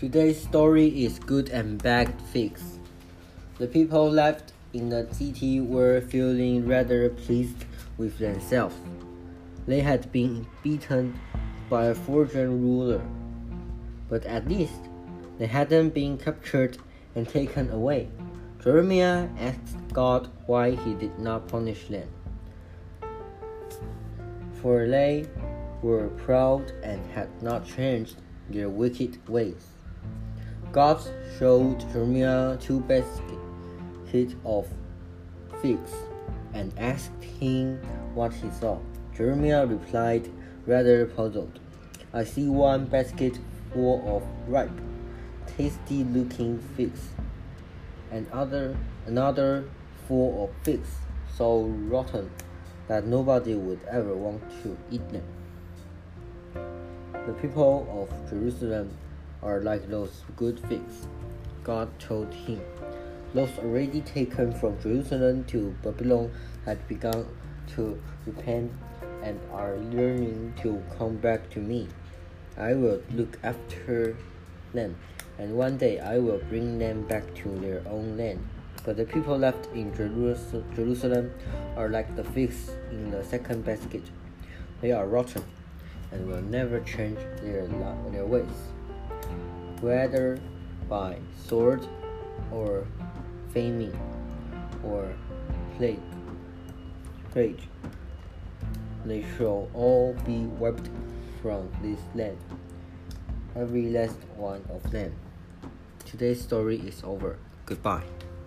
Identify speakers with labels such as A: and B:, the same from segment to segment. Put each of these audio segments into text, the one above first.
A: Today's story is Good and Bad Figs. The people left in the city were feeling rather pleased with themselves. They had been beaten by a foreign ruler, but at least they hadn't been captured and taken away. Jeremiah asked God why he did not punish them, for they were proud and had not changed their wicked ways. God showed Jeremiah 2 baskets of figs and asked him what he saw. Jeremiah replied, rather puzzled, "I see one basket full of ripe, tasty-looking figs, and another full of figs so rotten that nobody would ever want to eat them." The people of Jerusalem are like those good figs, God told him. Those already taken from Jerusalem to Babylon had begun to repent and are learning to come back to me. I will look after them, and one day I will bring them back to their own land. But the people left in Jerusalem are like the figs in the second basket. They are rotten and will never change their ways. Whether by sword or famine or plague, they shall all be wiped from this land, every last one of them. Today's story is over. Goodbye.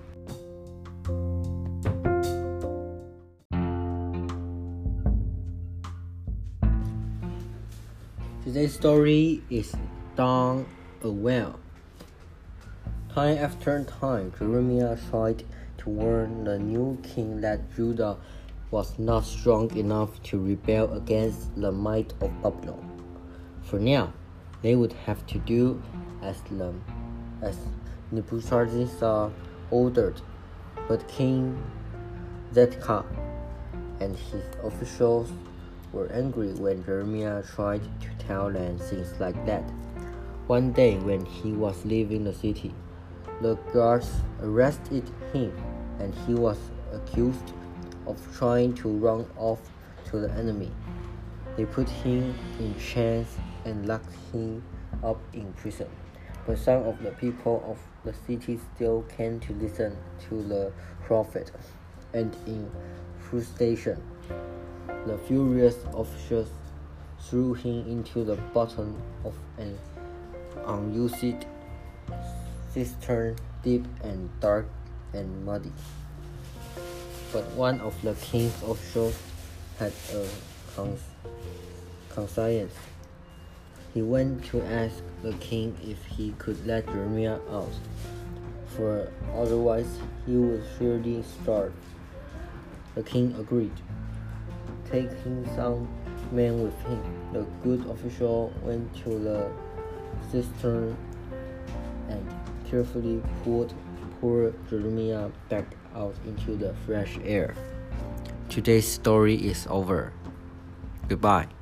A: Today's story is Done a Well. Time after time, Jeremiah tried to warn the new king that Judah was not strong enough to rebel against the might of Babylon. For now, they would have to do as Nebuchadnezzar ordered. But King Zedekiah and his officials were angry when Jeremiah tried to tell them things like that. One day, when he was leaving the city, the guards arrested him, and he was accused of trying to run off to the enemy. They put him in chains and locked him up in prison. But some of the people of the city still came to listen to the prophet, and in frustration, the furious officials threw him into the bottom of an unused cistern, deep and dark and muddy. But one of the king's officials had a conscience. He went to ask the king if he could let Jeremiah out, for otherwise he would surely starve. The king agreed. Taking some men with him, the good official went to the cistern and carefully pulled poor Jeremiah back out into the fresh air. Today's story is over. Goodbye.